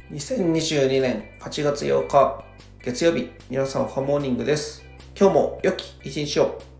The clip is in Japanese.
2022年8月8日月曜日、皆さんおはモーニングです。今日も良き一日を。